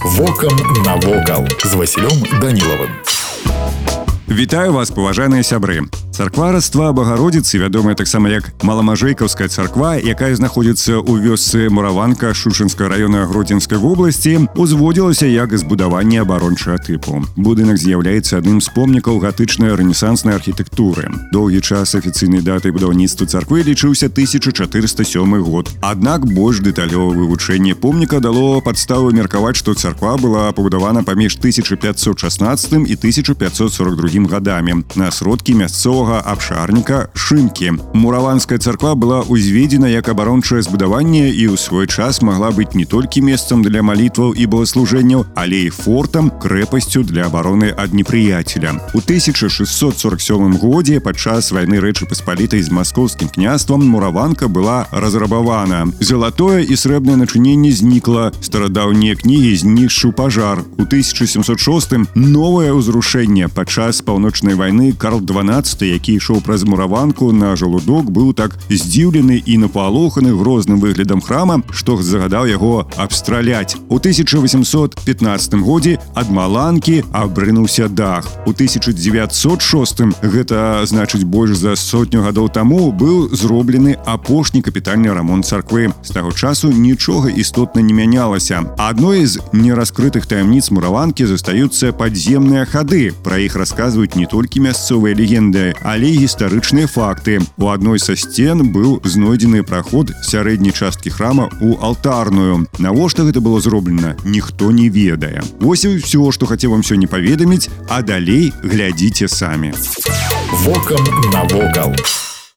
«Вокам навокал» з Васілём Данілавым. Вітаю вас, паважаныя сябры. Царква Раства Багародзіцы, вядомая таксама як Маламажэйкаўская царква, якая знаходзіцца ў вёсцы Мураванка Шушэнскага раёна Гродзенскай вобласці, узводзілася як збудаванне абарончага тыпу. Будынак з'яўляецца адным з помнікаў гатычнай рэнесанснай архітэктуры. Доўгі час афіцыйнай датай будаўніцтва царквы лічыўся 1407 год. Аднак больш дэталёвае вывучэнне помніка дало падставу меркаваць, што царква была пабудавана паміж 1516 і 1542 гадамі на сродкі мясцовага абшарніка Шымкі. Мураванская царква была узведзена як абарончае збудаванне і ў свой час магла быць не толькі месцам для малітваў і богаслужэнняў, але і фортам, крэпасцю для абароны ад непрыяцеля. У 1647 годзе падчас вайны Рэчы Паспалітай з маскоўскім княствам Мураванка была разрабавана. Залатое і срэбнае начыненне знікла. Старадаўнія кнігі знішчыў пажар. У 1706 новае ўзрушэнне падчас паўночнай вайны Карл XII, які ішоў праз Мураванку на жалудок, быў так здзіўлены і напалоханы грозным выглядам храма, што загадаў яго абстраляць. У 1815 годзе ад маланкі абрынуўся дах. У 1906, гэта значыць больш за сотню гадоў таму, быў зроблены апошні капітальны рамонт царквы. З таго часу нічога істотна не мянялася. Адной з нераскрытых таямніц Мураванкі застаюцца падземныя хады. Пра іх расказваюць не толькі мясцовыя легенды, але і гістарычныя факты. У адной са сцен быў знойдзены праход сярэдняй часткі храма ў алтарную. Навошта гэта было зроблена, ніхто не ведае. Вось і ўсё, што хацеў вам сёння паведаміць, а далей глядзіце самі. «Вокам навокал».